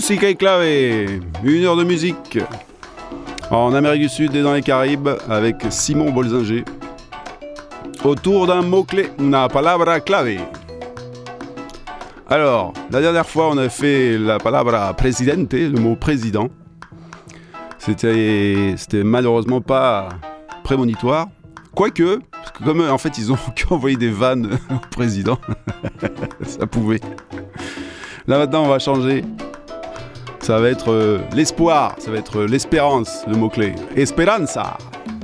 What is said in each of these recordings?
Musique et clave, 1 heure de musique en Amérique du Sud et dans les Caraïbes avec Simon Bolzinger autour d'un mot-clé, una palabra clave. Alors, la dernière fois on a fait la palabra presidente, le mot président. C'était malheureusement pas prémonitoire, quoique, parce que comme en fait ils ont envoyé des vannes au président, ça pouvait. Là maintenant on va changer. Ça va être l'espoir, ça va être l'espérance, le mot-clé. Esperanza.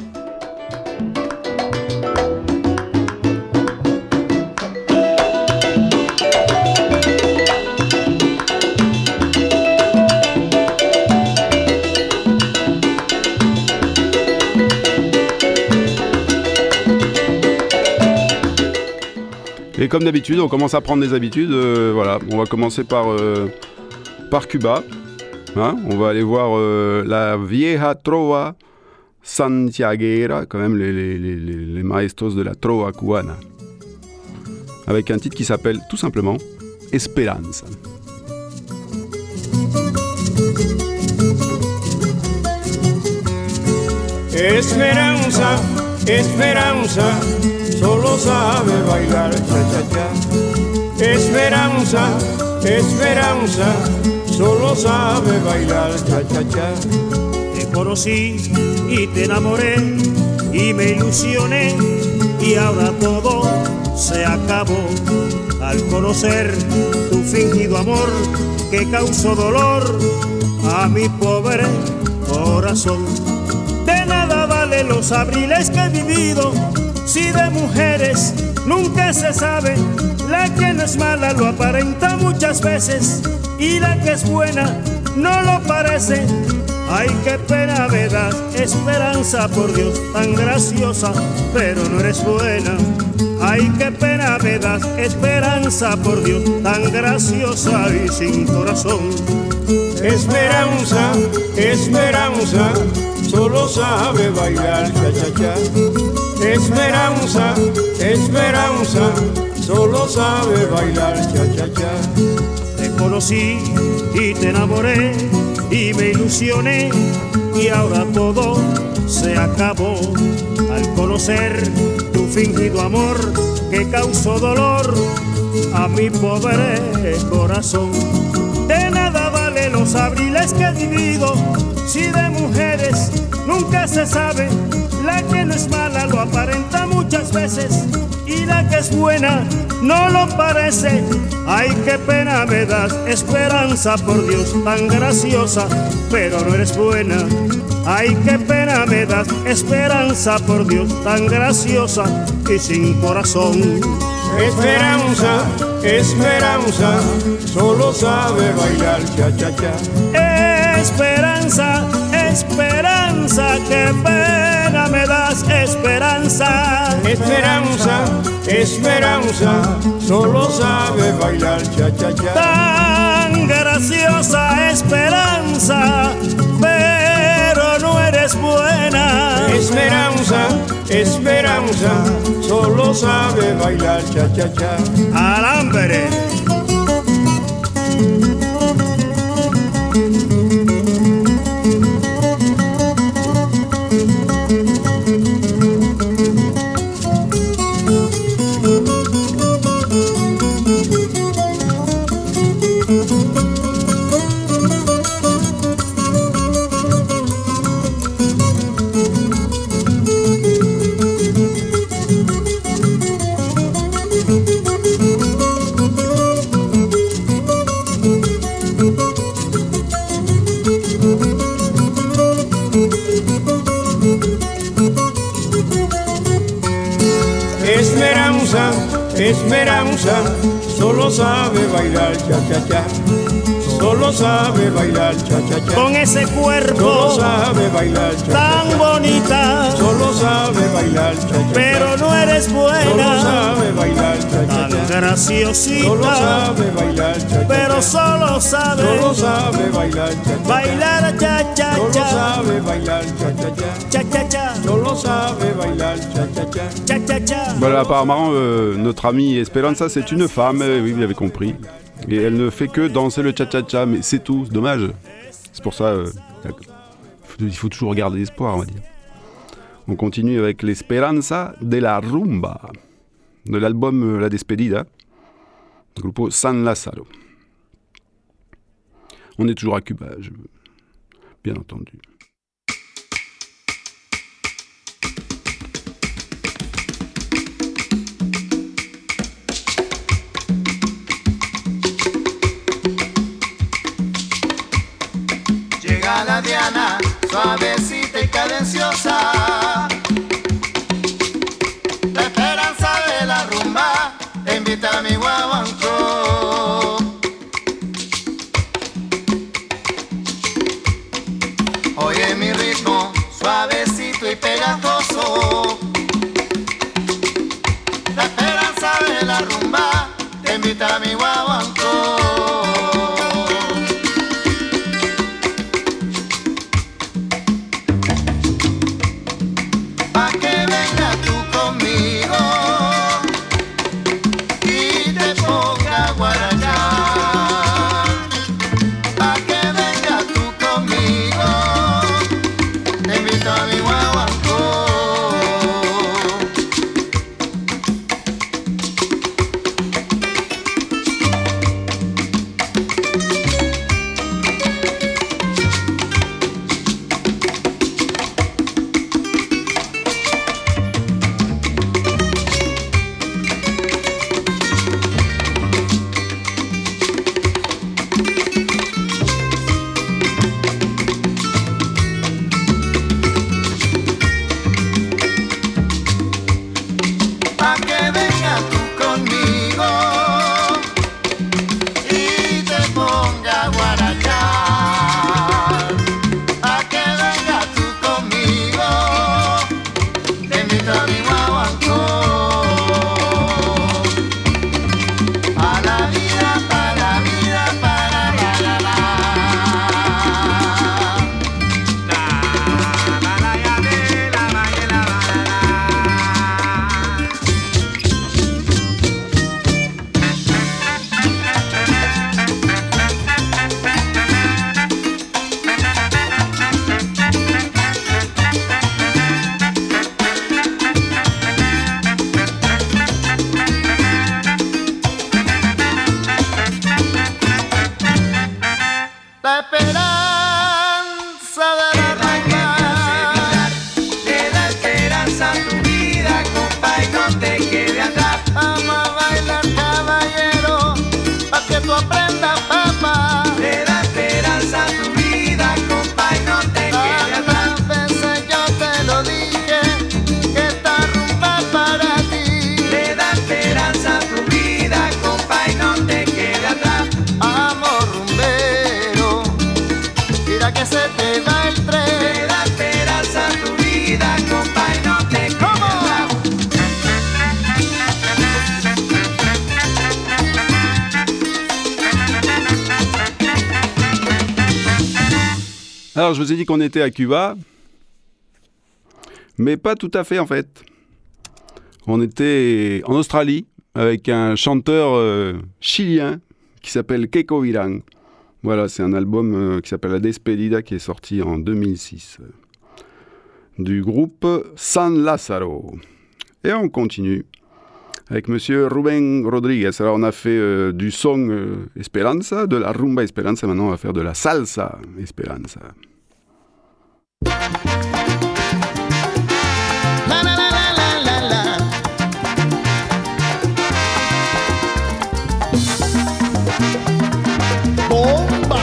Et comme d'habitude, on commence à prendre des habitudes. Voilà, on va commencer par Cuba. Hein, on va aller voir la vieja trova santiaguera, quand même les maestros de la trova cubana, avec un titre qui s'appelle tout simplement Esperanza. Esperanza, esperanza, solo sabe bailar cha-cha-cha. Esperanza, esperanza, solo sabe bailar cha-cha-cha. Te conocí y te enamoré y me ilusioné y ahora todo se acabó al conocer tu fingido amor que causó dolor a mi pobre corazón. De nada valen los abriles que he vivido si de mujeres nunca se sabe. La que no es mala lo aparenta muchas veces y la que es buena no lo parece. Ay, qué pena me das, esperanza, por Dios, tan graciosa, pero no eres buena. Ay, qué pena me das, esperanza, por Dios, tan graciosa y sin corazón. Esperanza, esperanza, solo sabe bailar cha-cha-cha. Esperanza, esperanza, solo sabe bailar cha-cha-cha. Te conocí y te enamoré y me ilusioné y ahora todo se acabó al conocer tu fingido amor que causó dolor a mi pobre corazón. De nada valen los abriles que he vivido si de mujeres nunca se sabe. La que no es mala lo aparenta muchas veces y la que es buena no lo parece. Ay, qué pena me das, esperanza, por Dios, tan graciosa, pero no eres buena. Ay, qué pena me das, esperanza, por Dios, tan graciosa y sin corazón. Esperanza, esperanza, solo sabe bailar cha-cha-cha. Esperanza, esperanza, qué pena me das, esperanza. Esperanza, esperanza, solo sabe bailar cha-cha-cha. Tan graciosa esperanza, pero no eres buena. Esperanza, esperanza, solo sabe bailar cha-cha-cha. Alambre. Esperanza, esperanza, solo sabe bailar cha-cha-cha. Solo sabe bailar cha-cha-cha. Con ese cuerpo solo sabe bailar cha-cha-cha. Tan bonita, solo sabe bailar cha-cha-cha. Pero no eres buena. Solo sabe bailar cha-cha-cha. Tan graciosita, solo sabe bailar cha-cha-cha. Pero solo sabe bailar cha-cha-cha. Bailar cha-cha-cha. Solo sabe bailar cha-cha-cha. Cha-cha-cha. Solo sabe bailar cha-cha-cha. Cha-cha-cha. Voilà, apparemment, notre amie Esperanza, c'est une femme, oui, vous l'avez compris. Et elle ne fait que danser le cha-cha-cha, mais c'est tout, c'est dommage. C'est pour ça, il faut toujours garder l'espoir, on va dire. On continue avec l'Esperanza de la Rumba, de l'album La Despedida, du groupe San Lázaro. On est toujours à Cuba, bien entendu. Llega la Diana, suavecita y cadenciosa. La esperanza de la rumba te invita a mi guaguancó. Oye mi ritmo, suavecito y pegajoso. La esperanza de la rumba te invita a mi guaguancó. Alors, je vous ai dit qu'on était à Cuba, mais pas tout à fait en fait. On était en Australie avec un chanteur chilien qui s'appelle Keiko Virán. Voilà, c'est un album qui s'appelle La Despedida qui est sorti en 2006 du groupe San Lázaro. Et on continue avec monsieur Rubén Rodríguez. Alors on a fait du son Esperanza, de la rumba Esperanza, maintenant on va faire de la salsa Esperanza. La la la la la la la. Bomba.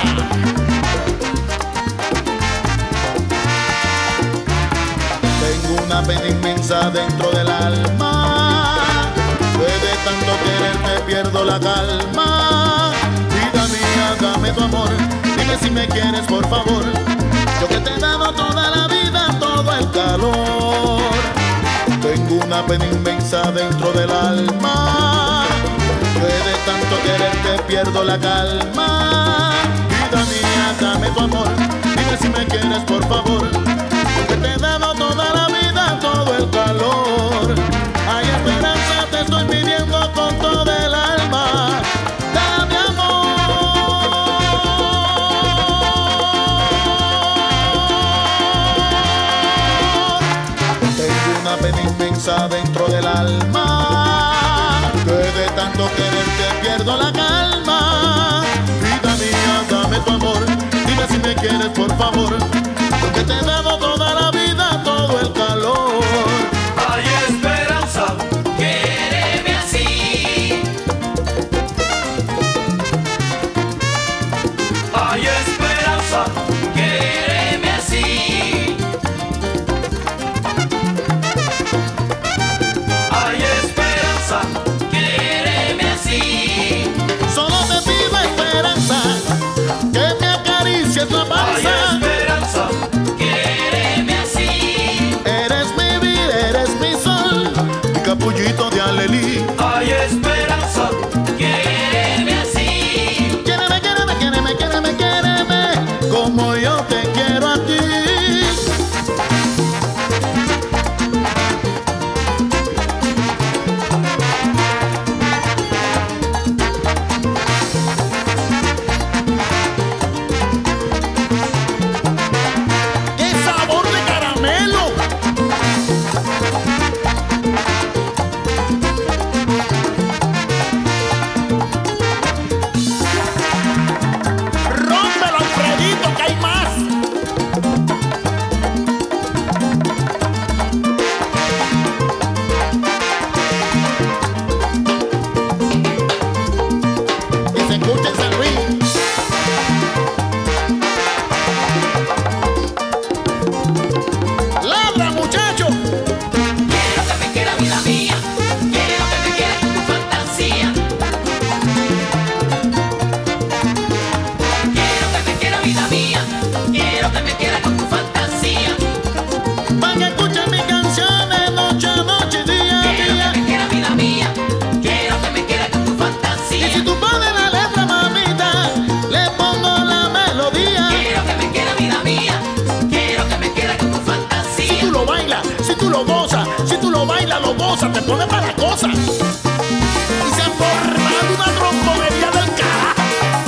Tengo una pena inmensa dentro del alma. De tanto quererte pierdo la calma. Vida mía, dame tu amor. Dime si me quieres, por favor. Yo que te he dado toda la vida, todo el calor. Tengo una pena inmensa dentro del alma. Que de tanto quererte pierdo la calma. Vida mía, dame tu amor. Dime si me quieres, por favor. Yo que te he dado toda la vida, todo el calor. Hay esperanza, te estoy pidiendo con todo el alma. Dame amor. inmensa dentro del alma, que de tanto quererte pierdo la calma. Vida mía, dame tu amor, dime si me quieres por favor, porque te he dado toda la vida, todo el calor. Hay esperanza, quéreme así. Hay esperanza, quéreme así. Hay esperanza, quéreme así. Solo te pido esperanza, que me acaricies la panza. Hay esperanza, quéreme así. Eres mi vida, eres mi sol, mi capullito de alelí. Hay esperanza, quéreme así. Quiéreme, quiéreme, quiéreme, quiéreme, quiéreme, como yo te quiero a ti. ¡Qué sabor de caramelo! ¡Rómpelo, Alfredito, que hay más! Que se escuche en San Luis. ¡Ladra, muchacho! Quiero que me quiera vida mía, quiero que me quieras con tu fantasía. Quiero que me quiera vida mía, quiero que me quieras con tu fantasía. Pa' que escuchen mis canciones noche a noche, día a Quiero día. que me quiera vida mía, quiero que me quieras con tu Y fantasía. si tú pones la letra, mamita, le pongo la melodía. Quiero que me quiera vida mía, quiero que me quieras con tu Si fantasía. tú lo bailas, si tú lo gozas, si tú lo bailas, lo gozas, te pones para la cosa. Y se ha formado una trombonería del carajo.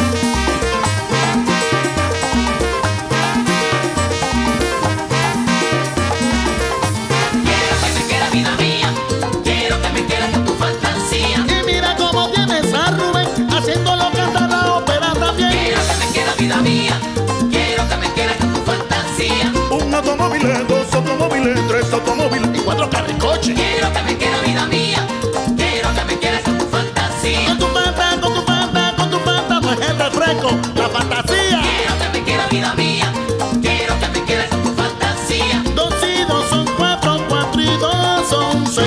Quiero que me quiera vida mía, quiero que me quieras con tu fantasía. Y mira cómo tienes a Rubén, haciéndolo cantar la ópera también. Quiero que me quiera vida mía, quiero que me quieras con tu fantasía. Un automóvil, dos automóviles, tres automóviles. Y 4 carricoches. Quiero que me quiera vida mía, quiero que me quieras con tu fantasía. Con tu pata, con tu pata, con tu pata, no es el refresco, la fantasía. Quiero que me quiera vida mía, quiero que me quieras con tu fantasía. 2 y 2 son 4, 4 y 2 son 6.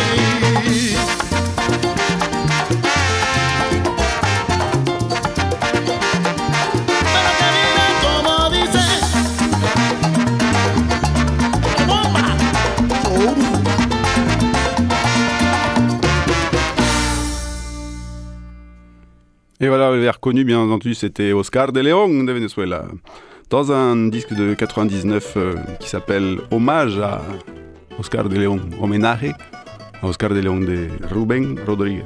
Pero que viene como dice la bomba. Et voilà, l'air connu, bien entendu, c'était Oscar de León de Venezuela, dans un disque de 99 qui s'appelle Hommage à Oscar de León, hommage à Oscar de León de Rubén Rodríguez.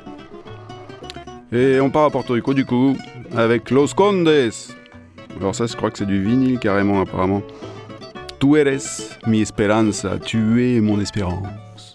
Et on part à Porto Rico du coup avec Los Condes. Alors ça, je crois que c'est du vinyle carrément apparemment. Tu eres mi esperanza, tu es mon espérance.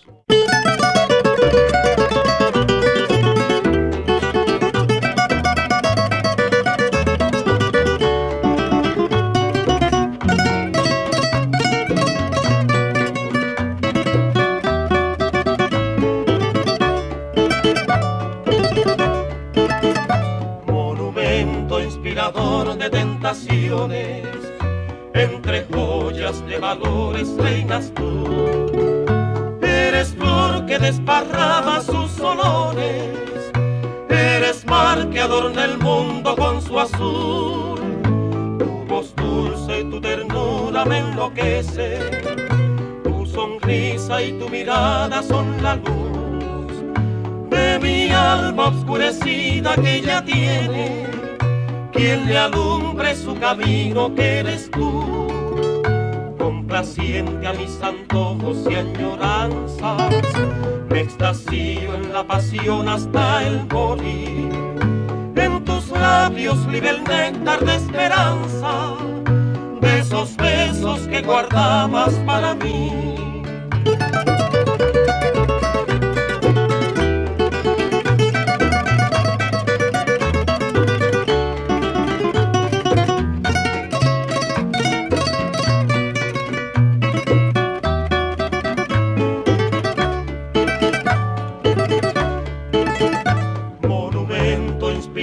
Monumento inspirador de tentaciones, entre joyas de valores reinas tú. Eres flor que desparrama sus olores, eres mar que adorna el mundo con su azul. Tu voz dulce y tu ternura me enloquece, tu sonrisa y tu mirada son la luz de mi alma oscurecida que ella tiene. Quien le alumbre su camino que eres tú, complaciente a mis antojos y añoranzas, me extasío en la pasión hasta el morir. En tus labios libre el néctar de esperanza, de esos besos que guardabas para mí.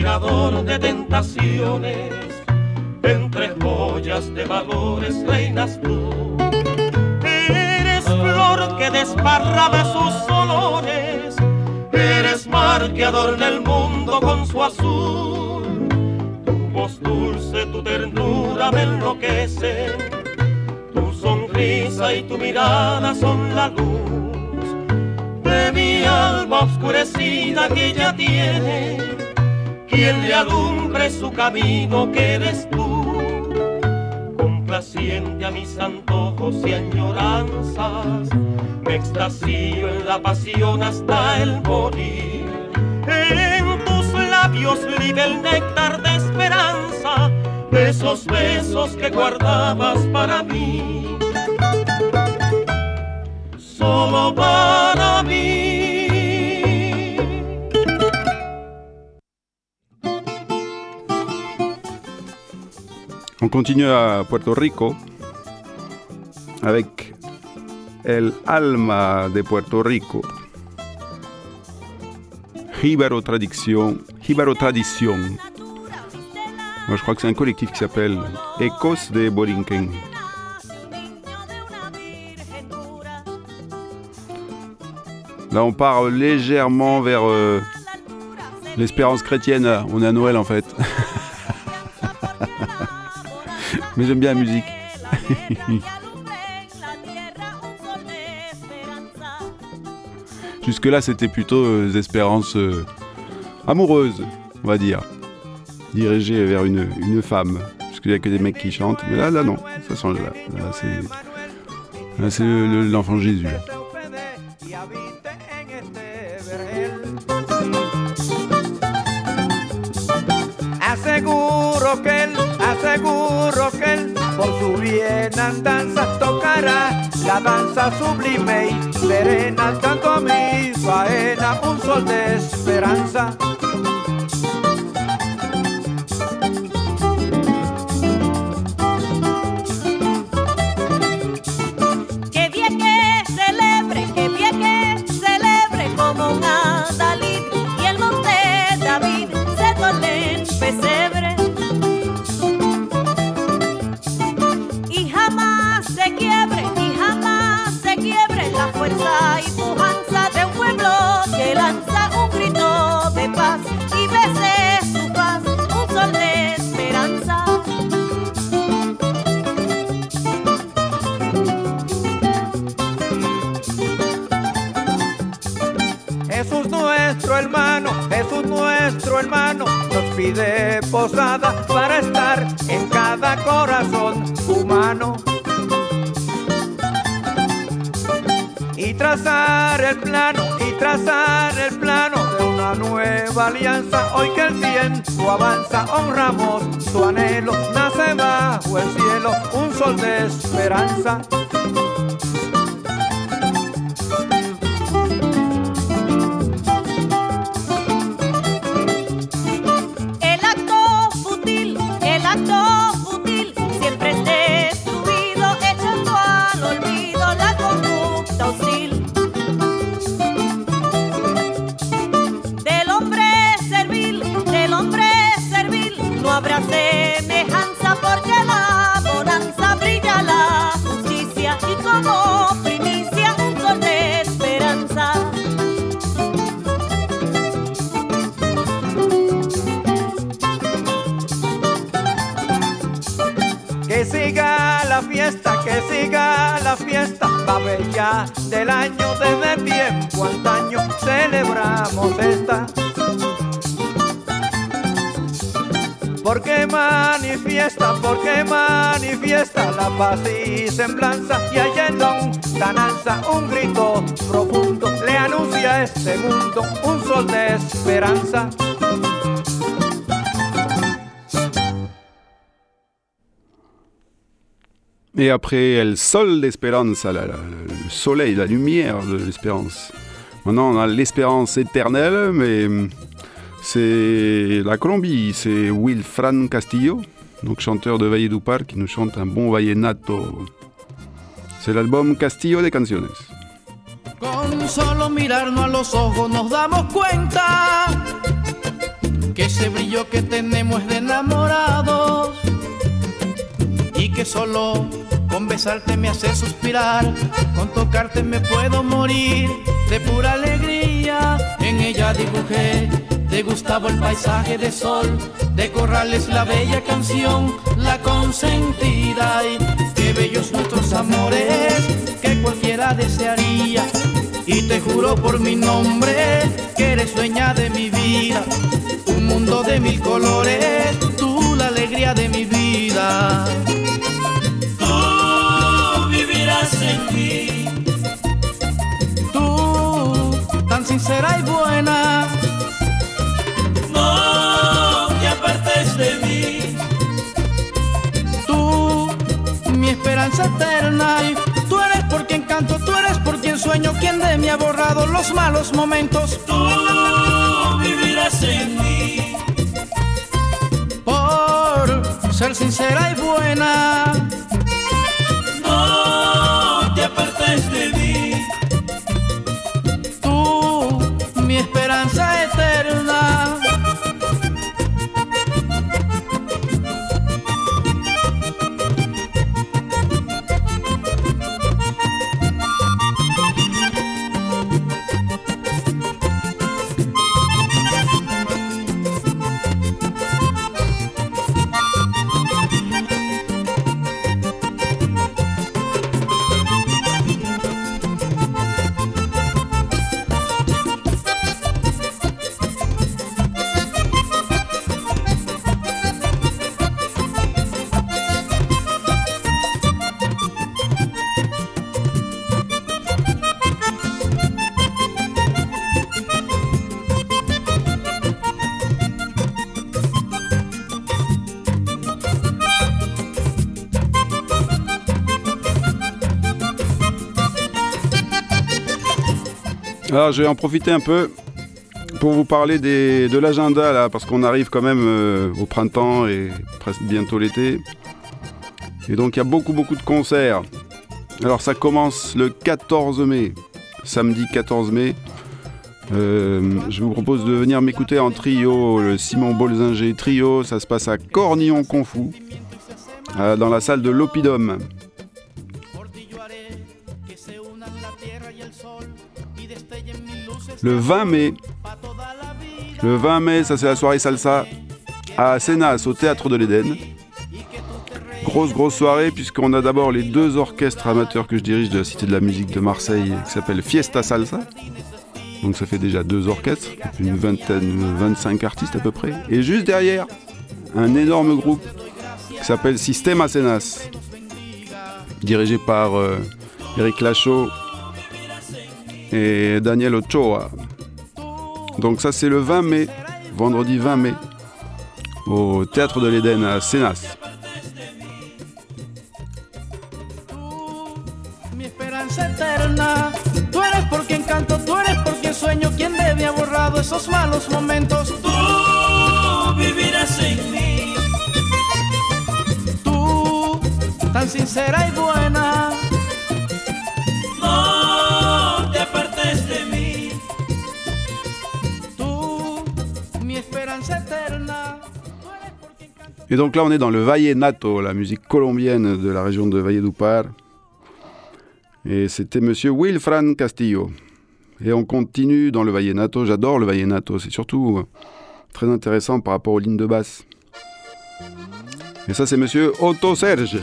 inspirador de tentaciones, entre joyas de valores reinas tú. Eres flor que desparrama sus olores, eres mar que adorna el mundo con su azul. Tu voz dulce, tu ternura me enloquecen, tu sonrisa y tu mirada son la luz de mi alma oscurecida que ella tiene. Quien le alumbre su camino que eres tú, complaciente a mis antojos y añoranzas, me extasío en la pasión hasta el morir. En tus labios libe el néctar de esperanza, de esos besos que guardabas para mí, solo para mí. On continue à Puerto Rico avec El Alma de Puerto Rico. Jíbaro Tradition. Moi, je crois que c'est un collectif qui s'appelle Ecos de Borinquen. Là, on part légèrement vers l'espérance chrétienne. On est à Noël, en fait. Mais j'aime bien la musique. Jusque-là, c'était plutôt des espérances amoureuses, on va dire. Dirigées vers une femme. Parce qu'il n'y a que des mecs qui chantent. Mais là non. Ça change là. Là, c'est l'enfant Jésus. Là. Aseguro que él por su bienandanza tocará la danza sublime y serena, tanto a mi faena un sol de esperanza. Que bien que celebre como un adalid y el monte David se torne en pesebre. Y jamás se quiebre la fuerza y pujanza de un pueblo que lanza un grito de paz y bese su paz, un sol de esperanza. Jesús nuestro hermano, nos pide posada para estar en cada corazón humano. Y trazar el plano de una nueva alianza. Hoy que el tiempo avanza, honramos su anhelo, nace bajo el cielo un sol de esperanza. El acto fútil siempre es destruido, echando al olvido la conducta hostil. Del hombre servil, no habrá semejanza, porque la bonanza brilla la justicia y como primicia un sol de esperanza. Que siga la fiesta, va bella del año, desde tiempo antaño celebramos esta. Porque manifiesta la paz y semblanza, y allá en lontananza un grito profundo le anuncia a este mundo un sol de esperanza. Et après El Sol d'Espérance, le soleil, la lumière de l'espérance. Maintenant, on a l'espérance éternelle, mais c'est la Colombie, c'est Wilfran Castillo, donc chanteur de Valledupar, qui nous chante un bon vallenato. C'est l'album Castillo de Canciones. Con solo mirarnos a los ojos nos damos cuenta que ese brillo que tenemos es de enamorados y que solo con besarte me hace suspirar, con tocarte me puedo morir de pura alegría. En ella dibujé de Gustavo el paisaje de sol, de Corrales la bella canción, la consentida. Y qué bellos nuestros amores que cualquiera desearía. Y te juro por mi nombre que eres dueña de mi vida, un mundo de mil colores, tú la alegría de mi vida. Tú vivirás en mí, Tú, tan sincera y buena, no te apartes de mí. tú, mi esperanza eterna. Y tú eres por quien canto, tú eres por quien sueño, quien de mí ha borrado los malos momentos. Tú vivirás en mí, Por ser sincera y buena, no te apartes de mí. tú, mi esperanza eterna. Alors je vais en profiter un peu pour vous parler de l'agenda là, parce qu'on arrive quand même au printemps et presque bientôt l'été. Et donc il y a beaucoup de concerts. Alors ça commence le 14 mai, samedi 14 mai. Je vous propose de venir m'écouter en trio, le Simon Bolzinger Trio. Ça se passe à Cornillon Confou, dans la salle de l'Oppidum. Le 20 mai, ça c'est la soirée salsa à Sénas, au Théâtre de l'Éden. Grosse soirée, puisqu'on a d'abord les deux orchestres amateurs que je dirige de la Cité de la Musique de Marseille, qui s'appelle Fiesta Salsa. Donc ça fait déjà deux orchestres, une vingtaine, 25 artistes à peu près. Et juste derrière, un énorme groupe qui s'appelle Sistema Sénas, dirigé par Eric Lachaud et Daniel Ochoa. Donc ça c'est le 20 mai, vendredi 20 mai, au Théâtre de l'Éden à Sénas. Mi esperanza eterna, tú eres por quien canto, tú eres por quien sueño, quien de mí ha borrado esos malos momentos. Tú vivirás en mí, Tú, tan sincera y buena, no te apartes de mí. tú, mi esperanza eterna. Et donc là on est dans le vallenato, la musique colombienne de la région de Valledupar. Et c'était monsieur Wilfran Castillo. Et on continue dans le vallenato. J'adore le vallenato, c'est surtout très intéressant par rapport aux lignes de basse. Et ça c'est monsieur Otto Serge,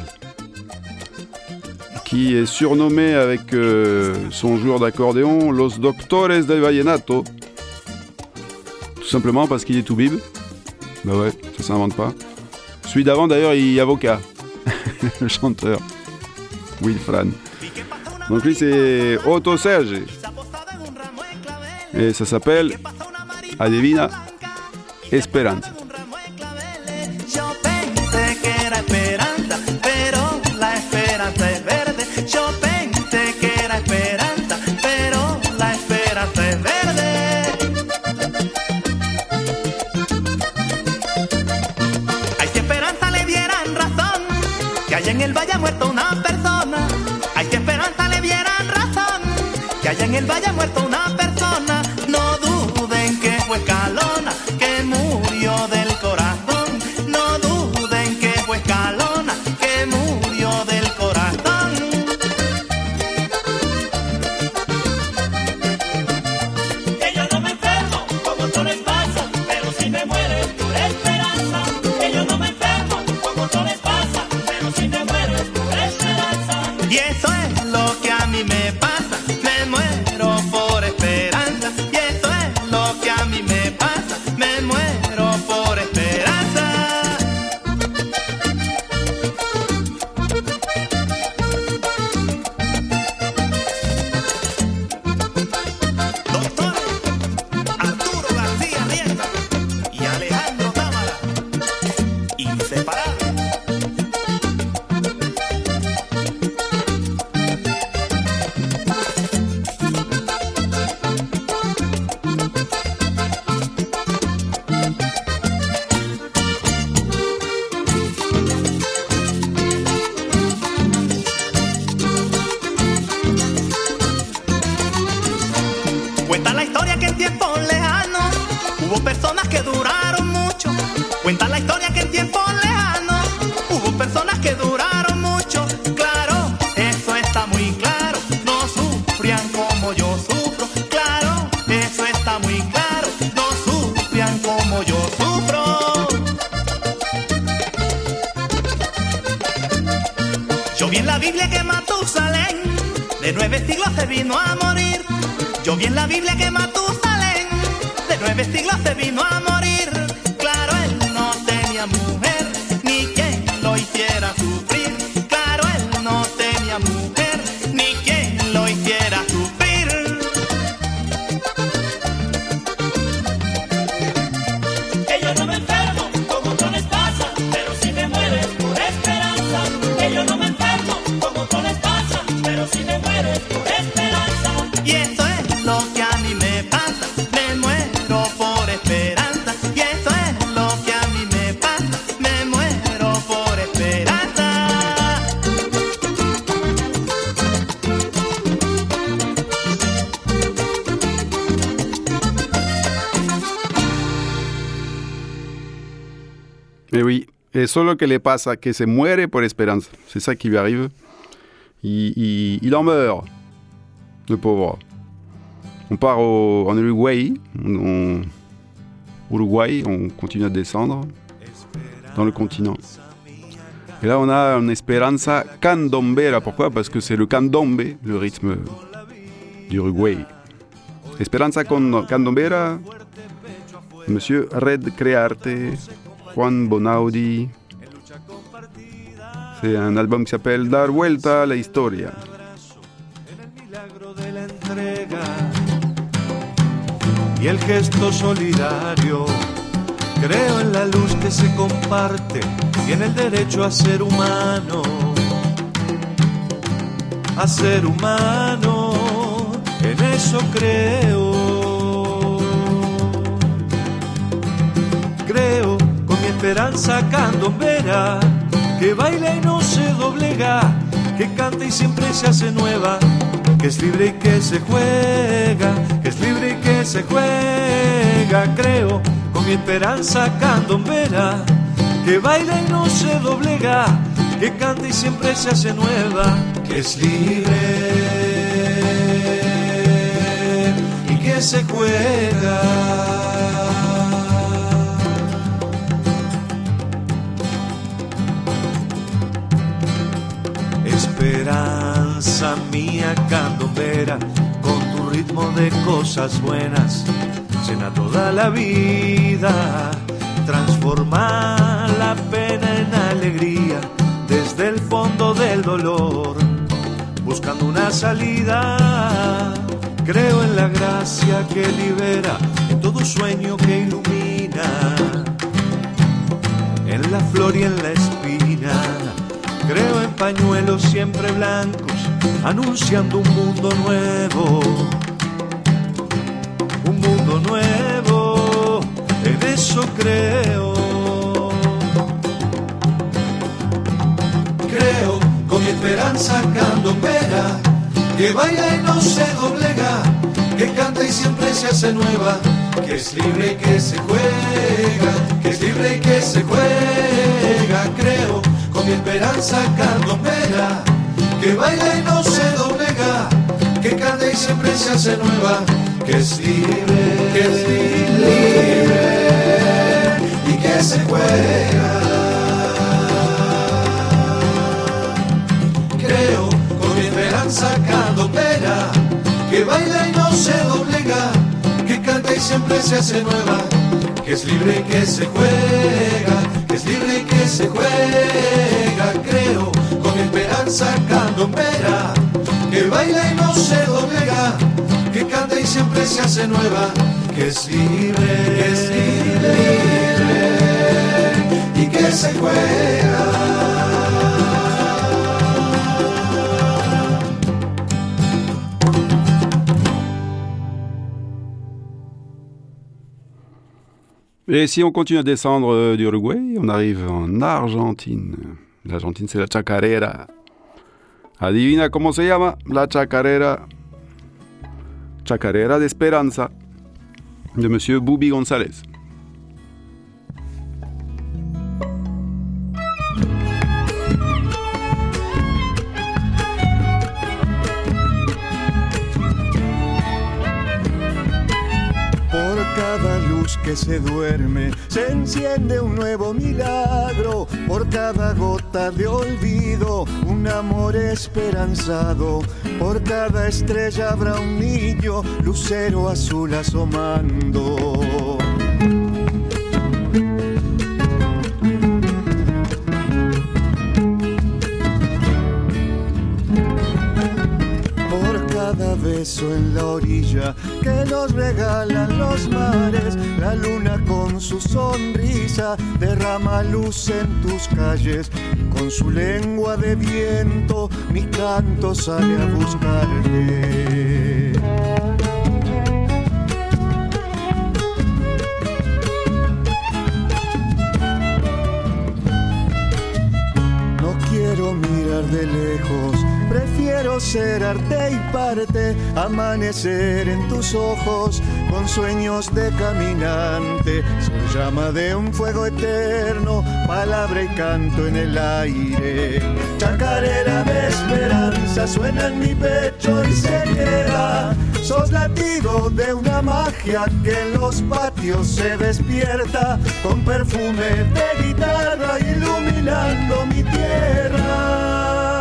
qui est surnommé avec son joueur d'accordéon Los Doctores del Vallenato. Tout simplement parce qu'il est tout bib. Bah ouais, ça s'invente pas. Celui d'avant d'ailleurs il est avocat, le chanteur Wilfran. Donc lui c'est Otto Serge. Et ça s'appelle Adivina Esperanza. Yo pensé que era esperanza, pero la esperanza es verde. Yo pensé que era esperanza, pero la esperanza es verde. Ay, si esperanza le dieran razón, que allá en el valle ha muerto una persona. Ay, si esperanza le dieran razón, que allá en el valle ha muerto una persona. No duden que fue Escalona, que murió personas que duraron mucho. Cuenta la historia que en tiempos lejanos hubo personas que duraron mucho. Claro, eso está muy claro. No sufrían como yo sufro. Claro, eso está muy claro. No sufrían como yo sufro. Yo vi en la Biblia que Matusalén de 9 siglos se vino a morir. Yo vi en la Biblia que Matusalén de 9 siglos se vino a morir. Claro, él no tenía mujer ni quien lo hiciera sufrir. Claro, él no tenía mujer ni quien lo hiciera sufrir. Que yo no me enfermo, como otros les pasa, pero si me muero es por esperanza. Que yo no me enfermo, como otros les pasa, pero si me muero es por esperanza. Y eso es lo que a mí me pasa, me muero por esperanza. Y eso es lo que a mí me pasa, me muero por esperanza. Et oui, et solo que le pasa, que se muere por esperanza. C'est ça qui lui arrive. Il en meurt, le pauvre. On part en Uruguay, on continue à descendre dans le continent. Et là, on a une Esperanza candombera. Pourquoi ? Parce que c'est le candombe, le rythme d'Uruguay. Esperanza candombera, Monsieur Red Crearte, Juan Bonaudi. C'est un album qui s'appelle Dar Vuelta a la Historia. De la entrega y el gesto solidario. Creo en la luz que se comparte y en el derecho a ser humano. A ser humano, en eso creo. Creo con mi esperanza candombera, que baila y no se doblega, que canta y siempre se hace nueva, que es libre y que se juega, que es libre y que se juega. Creo con mi esperanza candombera, que baila y no se doblega, que canta y siempre se hace nueva, que es libre y que se juega. Esperanza mía candombera, con tu ritmo de cosas buenas, llena toda la vida, transforma la pena en alegría, desde el fondo del dolor, buscando una salida. Creo en la gracia que libera, en todo sueño que ilumina, en la flor y en la espina. Creo en pañuelos siempre blancos, anunciando un mundo nuevo. Un mundo nuevo, en eso creo. Creo con mi esperanza candombera, que baila y no se doblega, que canta y siempre se hace nueva, que es libre y que se juega, que es libre y que se juega. Creo con mi esperanza candombera, que baila y no se doblega, que canta y siempre se hace nueva, que es libre y que se juega. Creo con mi esperanza candombera, que baila y no se doblega, que canta y siempre se hace nueva, que es libre y que se juega, que es libre y que se juega. Creo con mi esperanza candombera, que baila y no se doblega, que canta y siempre se hace nueva, que es libre y que se juega. Et si on continue à descendre d'Uruguay, on arrive en Argentine. L'Argentine, c'est la chacarera. Adivina cómo se llama la chacarera. Chacarera de Esperanza, de Monsieur Bubi González. que se duerme, se enciende un nuevo milagro. Por cada gota de olvido, un amor esperanzado. Por cada estrella habrá un niño, lucero azul asomando. Beso en la orilla que nos regalan los mares, la luna con su sonrisa derrama luz en tus calles, con su lengua de viento mi canto sale a buscarte. No quiero mirar de lejos, prefiero ser arte y parte, amanecer en tus ojos con sueños de caminante. Soy llama de un fuego eterno, palabra y canto en el aire. Chacarera de esperanza suena en mi pecho y se queda. Sos latido de una magia que en los patios se despierta, con perfume de guitarra iluminando mi tierra.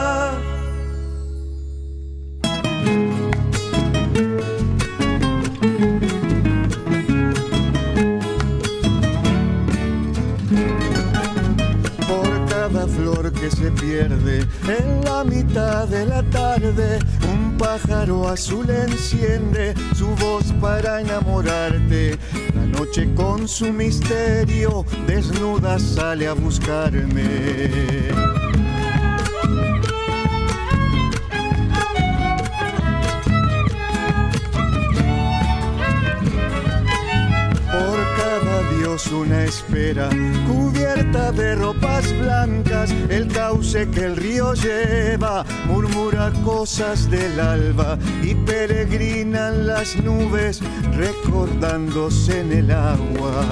Flor que se pierde en la mitad de la tarde, un pájaro azul enciende su voz para enamorarte. La noche con su misterio desnuda sale a buscarme. Una espera cubierta de ropas blancas, el cauce que el río lleva murmura cosas del alba y peregrinan las nubes recordándose en el agua.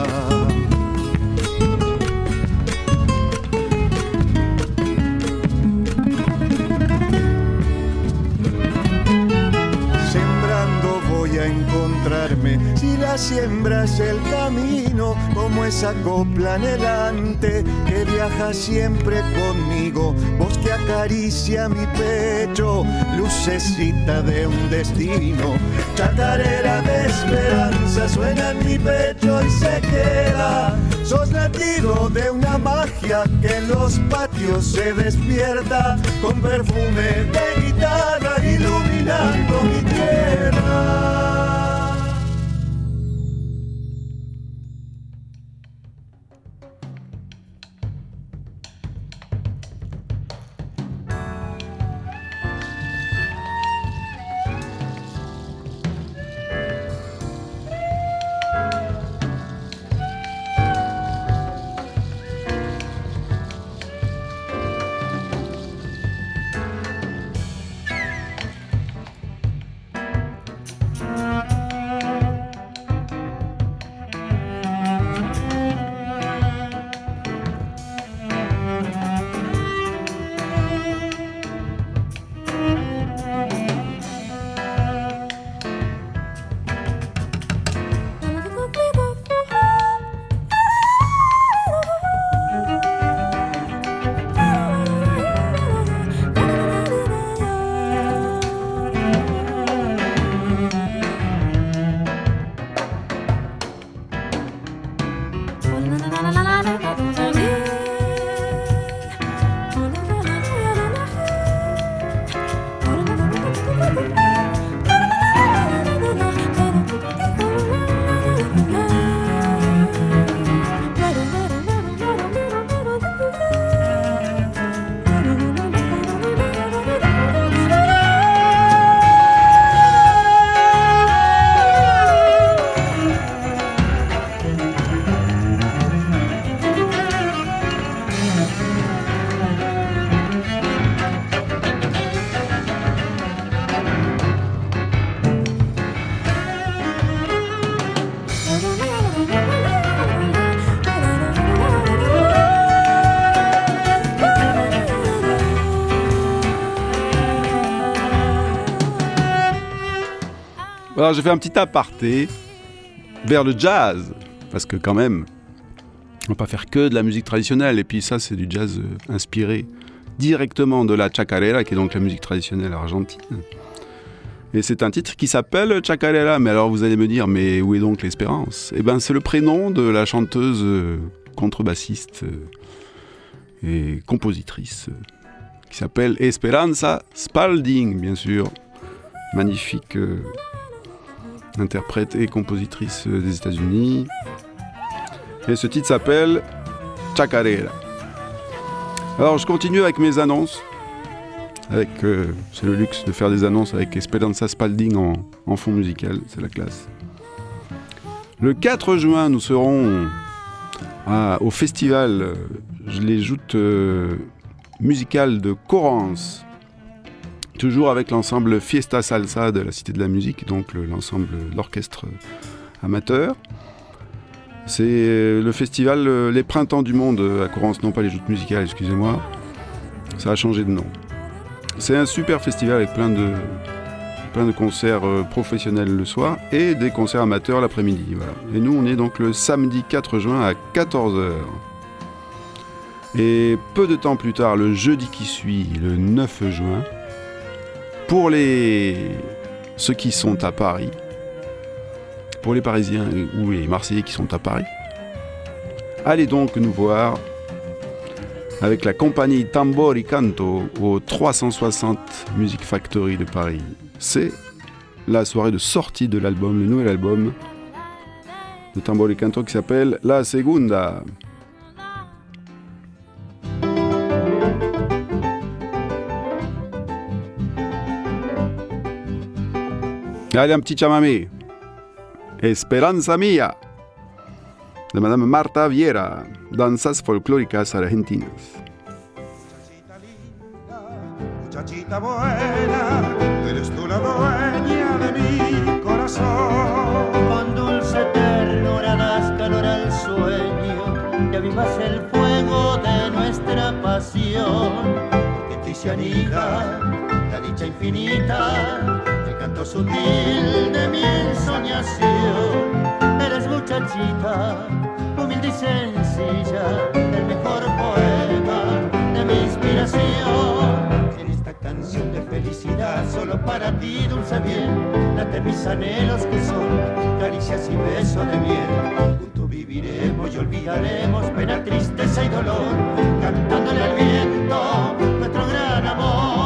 Encontrarme, si la siembra es el camino, como esa copla anhelante que viaja siempre conmigo, voz que acaricia mi pecho, lucecita de un destino. Chacarera de esperanza suena en mi pecho y se queda. Sos latido de una magia que en los patios se despierta, con perfume de guitarra iluminando mi tierra. Alors j'ai fait un petit aparté vers le jazz. Parce que quand même, on ne va pas faire que de la musique traditionnelle. Et puis ça, c'est du jazz inspiré directement de la chacarera, qui est donc la musique traditionnelle argentine. Et c'est un titre qui s'appelle Chacarera. Mais alors vous allez me dire, mais où est donc l'espérance ? Eh bien, c'est le prénom de la chanteuse contrebassiste et compositrice qui s'appelle Esperanza Spalding, bien sûr. Magnifique interprète et compositrice des États-Unis. Et ce titre s'appelle Chacarera. Alors, je continue avec mes annonces. C'est le luxe de faire des annonces avec Esperanza Spalding en fond musical, c'est la classe. Le 4 juin, nous serons au festival, je les joute musical de Corrance, toujours avec l'ensemble Fiesta Salsa de la Cité de la Musique, donc l'ensemble, l'orchestre amateur. C'est le festival Les Printemps du Monde à Corrance, non pas les joutes musicales, excusez-moi. Ça a changé de nom. C'est un super festival avec plein de concerts professionnels le soir et des concerts amateurs l'après-midi. Voilà. Et nous, on est donc le samedi 4 juin à 14h. Et peu de temps plus tard, le jeudi qui suit, le 9 juin, pour ceux qui sont à Paris, pour les Parisiens ou les Marseillais qui sont à Paris, allez donc nous voir avec la compagnie Tambor y Canto au 360 Music Factory de Paris. C'est la soirée de sortie de l'album, le nouvel album de Tambor y Canto qui s'appelle La Segunda. Allez, un petit chamamé. Esperanza Mía, de Madame Marta Viera, danzas folclóricas argentinas. Muchachita buena, eres tú la dueña de mi corazón. Con dulce ternura das calor al sueño, que avivas el fuego de nuestra pasión. Que en ti se anida la dicha infinita, el canto sutil de mi ensoñación. Eres muchachita, humilde y sencilla, el mejor poema de mi inspiración. En esta canción de felicidad, solo para ti, dulce bien, late mis anhelos que son caricias y besos de miel. Juntos viviremos y olvidaremos pena, tristeza y dolor, cantándole al viento nuestro gran amor.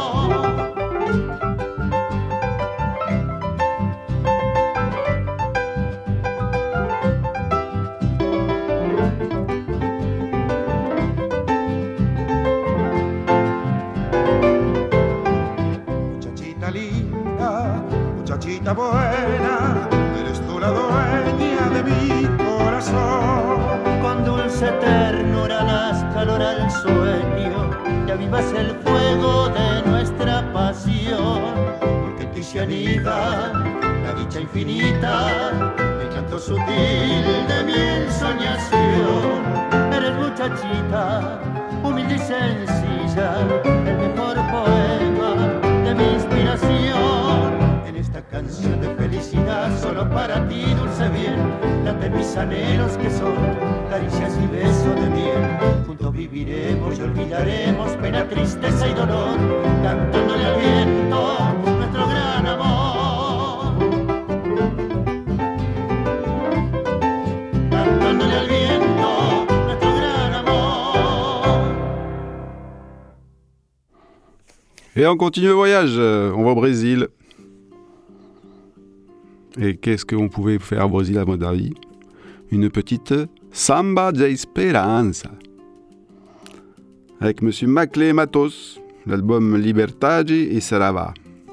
Muchachita buena, eres tú la dueña de mi corazón. Con dulce ternura das calor al sueño, y avivas el fuego de nuestra pasión. Porque en ti se anida la dicha infinita, el canto sutil de mi ensoñación. Eres muchachita, humilde y sencilla, el mejor poema de mi inspiración. Esta canción de felicidad, solo para ti, dulce bien, late mis anhelos que son caricias y besos de miel. Juntos viviremos y olvidaremos pena, tristeza y dolor, cantándole al viento nuestro gran amor. Cantándole al viento nuestro gran amor. Et on continue le voyage, on va au Brésil. Et qu'est-ce qu'on pouvait faire au Brésil à mon avis ? Une petite Samba de Esperanza. Avec Monsieur Maclé Matos, l'album Liberdade e Saravá.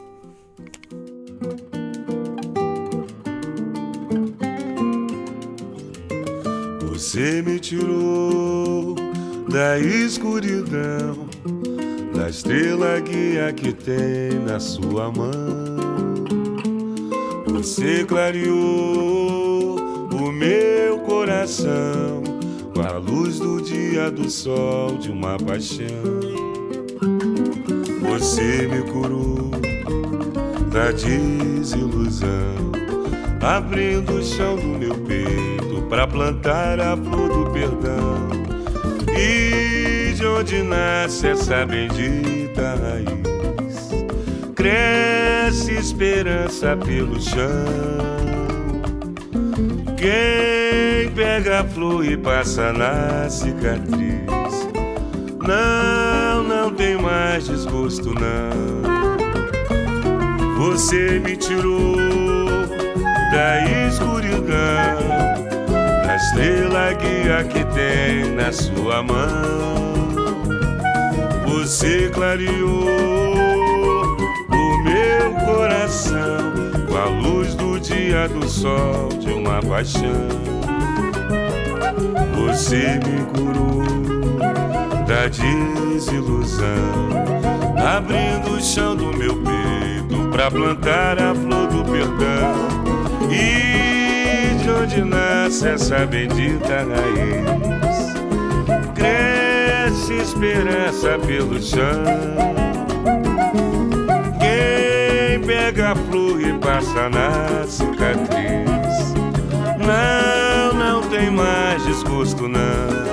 Você me tirou da escuridão, da estrela guia que tem na sua mão. Você clareou o meu coração com a luz do dia, do sol, de uma paixão. Você me curou da desilusão, abrindo o chão do meu peito pra plantar a flor do perdão. E de onde nasce essa bendita raiz, cresce esperança pelo chão. Quem pega a flor e passa na cicatriz, não tem mais desgosto não. Você me tirou da escuridão, da estrela guia que tem na sua mão. Você clareou o meu coração com a luz do dia, do sol, de uma paixão. Você me curou da desilusão, abrindo o chão do meu peito pra plantar a flor do perdão. E de onde nasce essa bendita raiz, cresce esperança pelo chão. Quem pega a flor e passa na cicatriz, não tem mais desgosto não.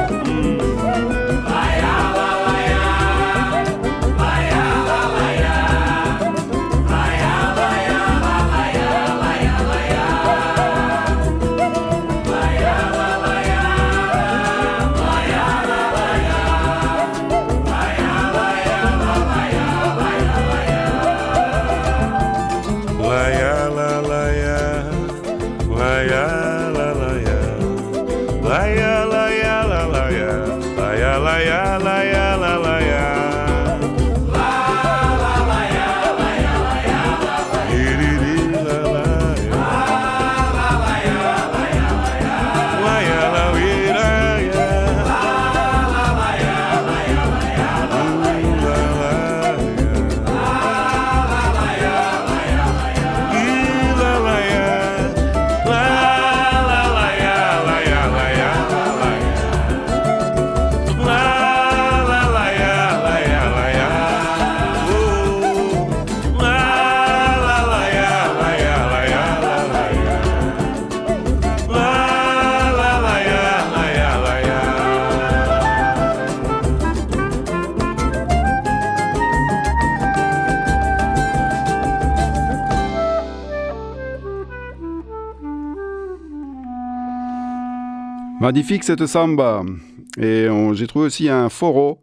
Magnifique cette samba. Et j'ai trouvé aussi un foro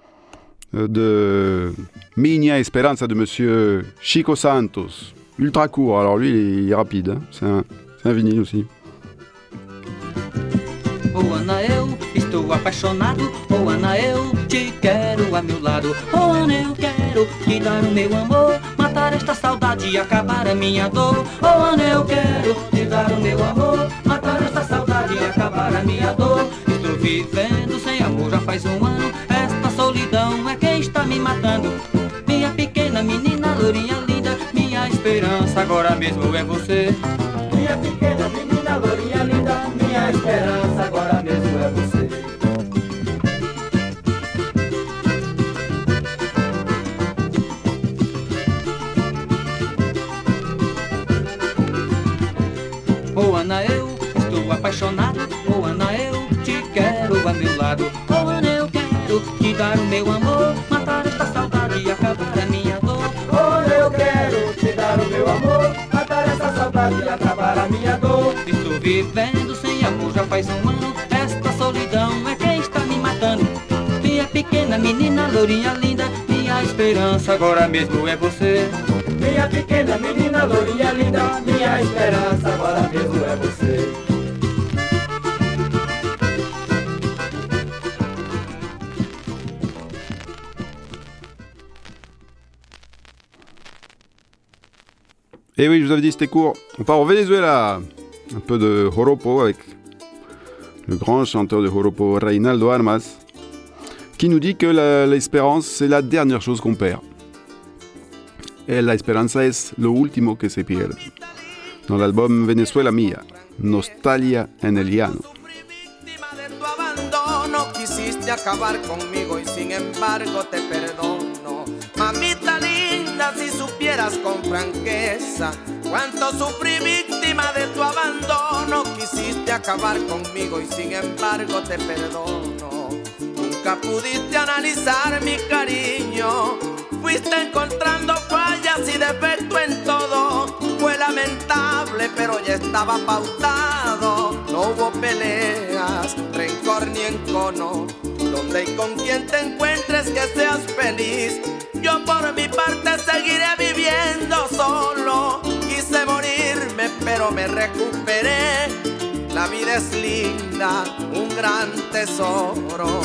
de Minha Esperanza de Monsieur Chico Santos. Ultra court, alors lui il est rapide, hein. C'est un vinyle aussi. Oh Ana, eu estou apaixonado. Oh Ana, eu te quero a meu lado. Oh Ana, eu quero te dar o meu amor, matar esta saudade e acabar a minha dor. Oh Ana, eu quero te dar o meu amor, matar esta saudade e acabar a minha dor. Estou vivendo sem amor já faz um ano. Esta solidão é quem está me matando. Minha pequena menina, lourinha linda, minha esperança agora mesmo é você. Minha pequena menina, lourinha linda, minha esperança agora mesmo é você. Oh Ana, eu estou apaixonado. Oh Ana, eu te quero a meu lado. Oh Ana, eu quero te dar o meu amor, matar esta saudade e acabar a minha dor. Oh Ana, eu quero te dar o meu amor, matar esta saudade e acabar a minha dor. Estou vivendo sem amor já faz um ano. Esta solidão é quem está me matando. Minha pequena menina, lourinha linda, minha esperança agora mesmo é você. Minha pequena menina, lourinha linda, minha esperança agora mesmo é você. Et oui, je vous avais dit c'était court. On part au Venezuela. Un peu de joropo avec le grand chanteur de joropo Reinaldo Armas, qui nous dit que l'espérance c'est la dernière chose qu'on perd. Et la esperanza es lo último que se pierde. Dans l'album Venezuela Mía, Nostalgia en el Llano. Quisiste acabar conmigo y sin embargo te perdono. Mamita linda, si supieras con franqueza cuánto sufrí víctima víctima de tu abandono. Quisiste acabar conmigo y sin embargo te perdono. Nunca pudiste analizar mi cariño. Fuiste encontrando fallas y defectos en todo. Fue lamentable, pero ya estaba pautado. No hubo peleas, rencor ni encono. Donde y con quien te encuentres que seas feliz. Yo por mi parte seguiré viviendo solo. Quise morirme, pero me recuperé. La vida es linda, un gran tesoro.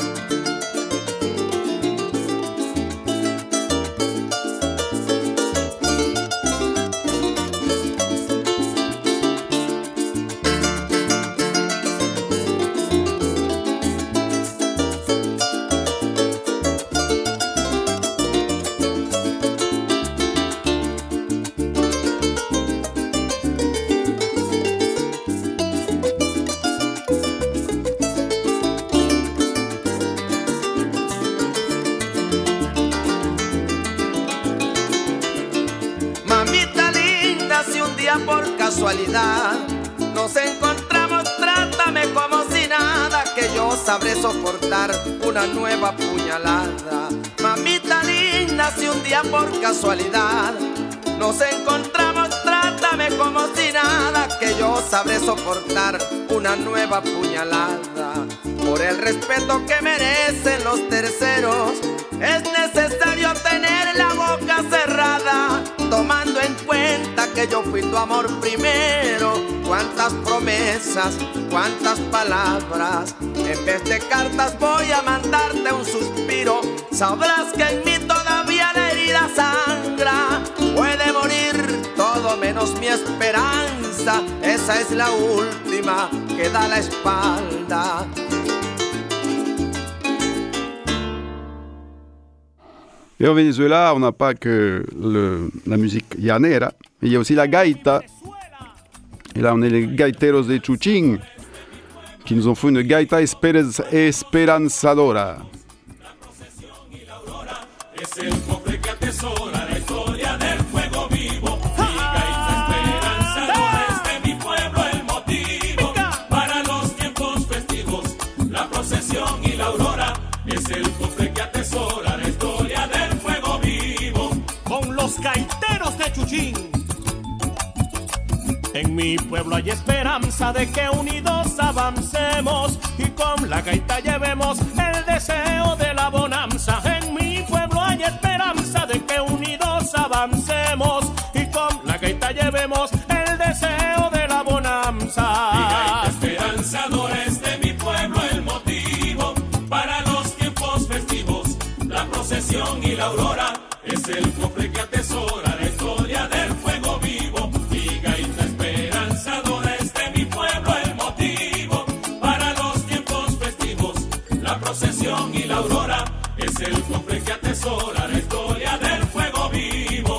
Por casualidad nos encontramos, trátame como si nada, que yo sabré soportar una nueva puñalada. Mamita linda, si un día por casualidad nos encontramos, trátame como si nada, que yo sabré soportar una nueva puñalada. Por el respeto que merecen los terceros, es necesario tener la boca cerrada, tomando en cuenta que yo fui tu amor primero. Cuántas promesas, cuántas palabras, en vez de cartas voy a mandarte un suspiro. Sabrás que en mí todavía la herida sangra. Puede morir todo menos mi esperanza. Esa es la última que da la espalda. Et au Venezuela, on n'a pas que la musique llanera, mais il y a aussi la gaita. Et là, on est les gaiteros de Chuchín, qui nous ont fait une gaita esperanzadora. Es el cofre que atesora la historia del fuego vivo. Mi gaita esperanzadora es de mi pueblo el motivo para los tiempos festivos, la procesión y la aurora. Es el cofre que atesora la historia del fuego vivo. Con los gaiteros de Chuchín. En mi pueblo hay esperanza de que unidos avancemos y con la gaita llevemos el deseo de la bonanza. En mi pueblo hay esperanza de que unidos avancemos y con la gaita llevemos el deseo de la bonanza. Mi gaita esperanzadora es de mi pueblo el motivo para los tiempos festivos, la procesión y la aurora. Es el cofre que atesora la historia del fuego vivo. Mi gaita esperanzadora es de mi pueblo el motivo para los tiempos festivos, la procesión y la aurora. Es el cofre que atesora la historia del fuego vivo.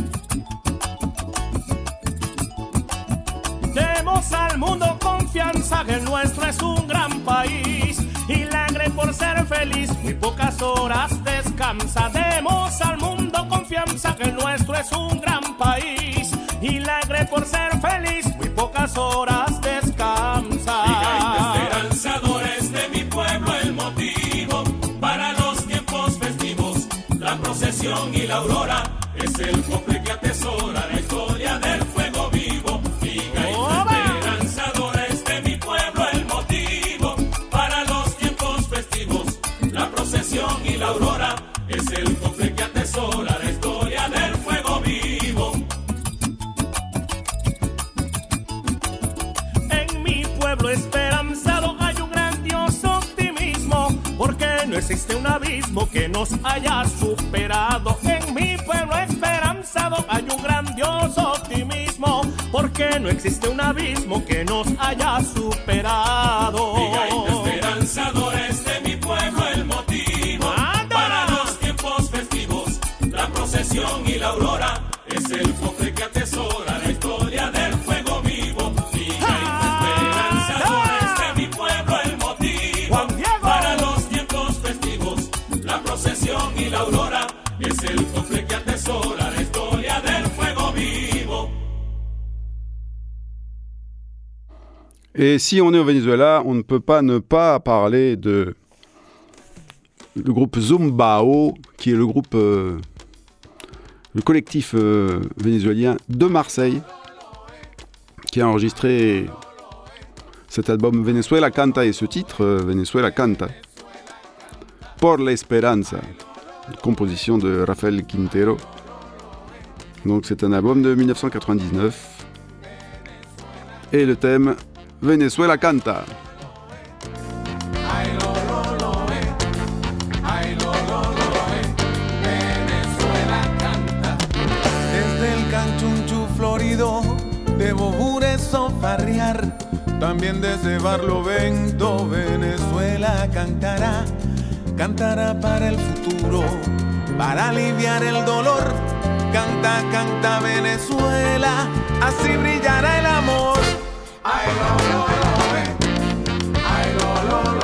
Demos al mundo confianza que el nuestro es un gran país y lagre por ser feliz, muy pocas horas descansa. Demos al mundo confianza que el nuestro es un gran país y lagre por ser feliz, muy pocas horas descansa. Mi gaita esperanzadora es de mi pueblo el motivo para los tiempos festivos, la procesión y la aurora. Es el cofre que atesora la historia del fuego vivo. Mi gaita esperanzadora es de mi pueblo el motivo para los tiempos festivos, la procesión y la aurora. Es el cofre que atesora la historia del fuego vivo. En mi pueblo esperanzado hay un grandioso optimismo, porque no existe un abismo que nos haya superado. En mi pueblo esperanzado hay un grandioso optimismo, porque no existe un abismo que nos haya superado. Mi gaita esperanzadora es de mi pueblo el motivo para los tiempos festivos, la procesión y la aurora. Es el cofre que atesora la historia del fuego vivo. Mi gaita esperanzadora es de mi pueblo el motivo para los tiempos festivos, la procesión y la aurora. Es el cofre que atesora la historia del fuego vivo. En mi pueblo esperanzado hay un grandioso optimismo, porque no existe un abismo que nos haya superado. En mi pueblo esperanzado hay un grandioso optimismo, porque no existe un abismo que nos haya superado. Mi gaita esperanzadora es de mi pueblo el motivo para los tiempos festivos, la procesión y la aurora. Es el cofre que atesora la historia del fuego vivo. Es el cofre que atesora la historia del fuego vivo. Et si on est au Venezuela, on ne peut pas ne pas parler de le groupe Zumbao, qui est le groupe, le collectif vénézuélien de Marseille, qui a enregistré cet album Venezuela Canta et ce titre, Venezuela Canta, Por la Esperanza, composition de Rafael Quintero. Donc c'est un album de 1999. Et le thème Venezuela Canta. Desde el Canchunchu florido de Bobures o farrear, también desde Barlovento Venezuela cantará, cantará para el futuro, para aliviar el dolor. Canta, canta Venezuela, así brillará el amor. Ay, lo, ay, lo,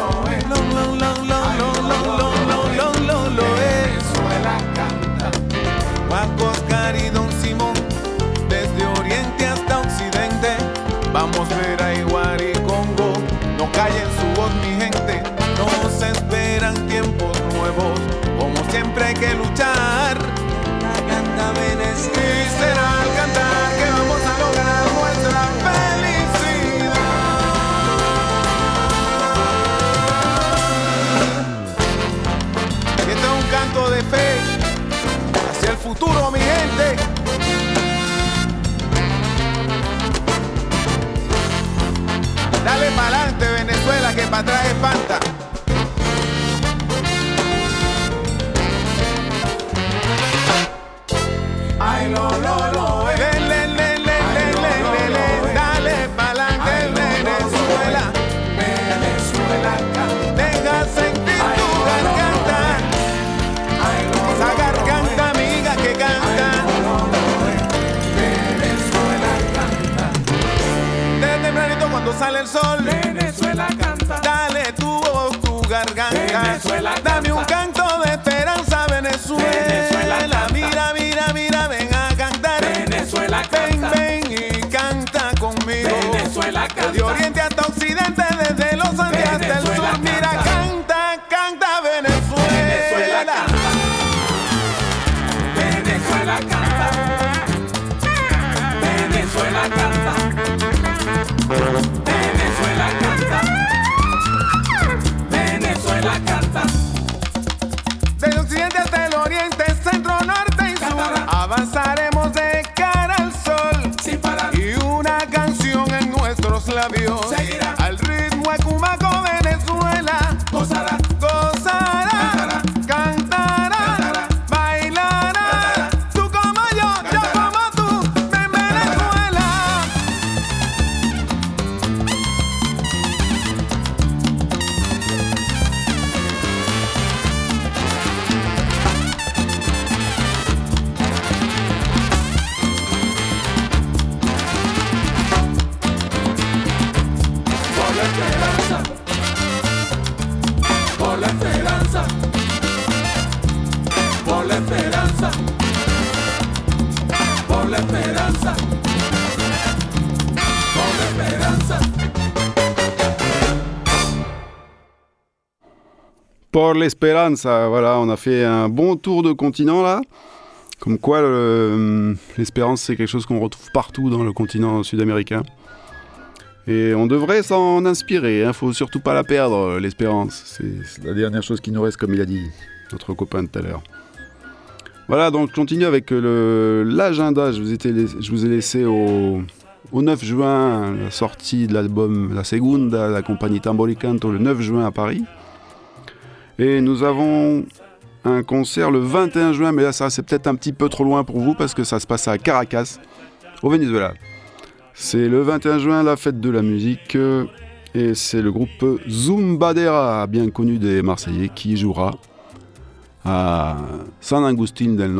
Venezuela canta. Guacos, Cari, Don Simón, desde oriente hasta occidente, vamos a ver a Iguari y Congo, no callen su voz mi gente, nos esperan tiempos nuevos, como siempre hay que luchar. Canta Venezuela, y será al cantar que vamos a lograr nuestra felicidad. Este es un canto de fe hacia el futuro, mi gente. Dale pa'lante Venezuela, que pa' atrás espanta. Ay, lo, dale pa'lante Venezuela, Venezuela canta, deja sentir tu garganta, esa garganta amiga que canta, Venezuela canta, desde tempranito cuando sale el sol, Venezuela canta, dale tu voz, tu garganta, Venezuela canta, dame un canto de esperanza, Venezuela, mira, mira, mira, ven a cantar, Venezuela canta, ven y canta conmigo, Venezuela canta, de oriente hasta occidente, desde los Andes hasta el sur, mira, canta, canta Venezuela, Venezuela canta, Venezuela canta, Venezuela canta, Venezuela canta, del occidente hasta el oriente, centro, norte y sur, avanzaremos de cara al sol, sin parar, y una canción en nuestros labios seguirá al ritmo ecumaco. Venezuela gozará, gozará, cantará, bailará, tú como yo como tú, en Venezuela. Por la esperanza, por la esperanza, por la esperanza, por la esperanza, por la esperanza. Por l'Esperanza, voilà, on a fait un bon tour de continent là. Comme quoi, l'espérance, c'est quelque chose qu'on retrouve partout dans le continent sud-américain. Et on devrait s'en inspirer, hein. Faut surtout pas la perdre, l'espérance. C'est la dernière chose qui nous reste, comme il a dit notre copain de tout à l'heure. Voilà, donc je continue avec l'agenda. Je vous ai laissé au 9 juin la sortie de l'album La Segunda, la compagnie Tamboricanto, le 9 juin à Paris. Et nous avons un concert le 21 juin, mais là ça c'est peut-être un petit peu trop loin pour vous parce que ça se passe à Caracas, au Venezuela. C'est le 21 juin, la fête de la musique, et c'est le groupe Zumbadera, bien connu des Marseillais, qui jouera à San Agustín del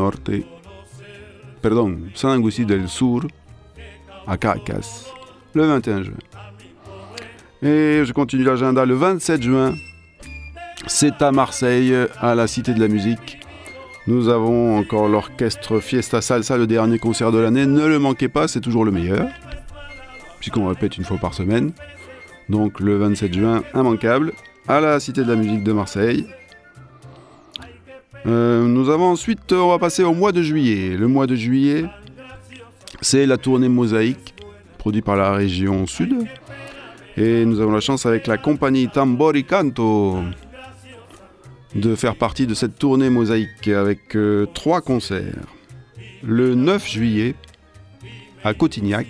Sur, à Caracas, le 21 juin. Et je continue l'agenda le 27 juin. C'est à Marseille, à la Cité de la Musique. Nous avons encore l'orchestre Fiesta Salsa, le dernier concert de l'année. Ne le manquez pas, c'est toujours le meilleur, puisqu'on répète une fois par semaine. Donc le 27 juin, immanquable, à la Cité de la Musique de Marseille. Nous avons ensuite, on va passer au mois de juillet. Le mois de juillet, c'est la tournée Mosaïque, produite par la région Sud. Et nous avons la chance avec la compagnie Tambori Canto de faire partie de cette tournée Mosaïque avec 3 concerts. Le 9 juillet à Cotignac,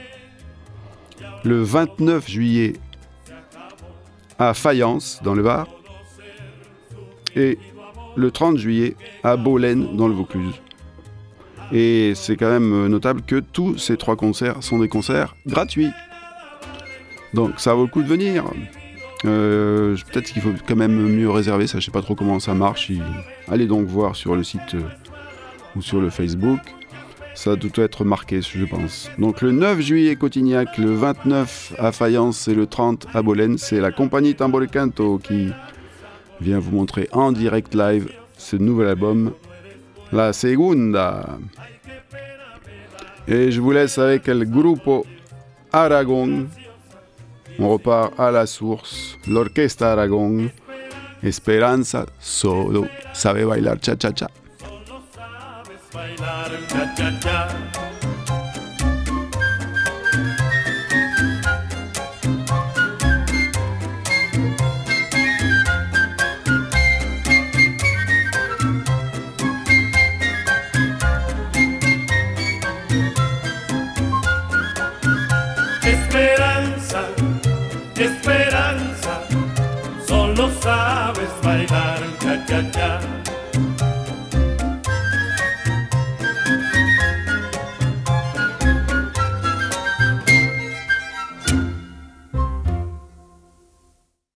le 29 juillet à Fayence dans le Var et le 30 juillet à Bolène dans le Vaucluse. Et c'est quand même notable que tous ces 3 concerts sont des concerts gratuits. Donc ça vaut le coup de venir. Peut-être qu'il faut quand même mieux réserver, ça je sais pas trop comment ça marche. Allez donc voir sur le site ou sur le Facebook. Ça doit être marqué, je pense. Donc le 9 juillet Cotignac, le 29 à Fayence et le 30 à Bolène, c'est la compagnie Tambori Canto qui vient vous montrer en direct live ce nouvel album, La Segunda. Et je vous laisse avec le Grupo Aragon. On repart à la source, l'Orquesta Aragon, Esperanza solo sabe bailar cha-cha-cha. Bailar cha-cha-cha. Esperanza, esperanza, solo sabes bailar cha-cha-cha.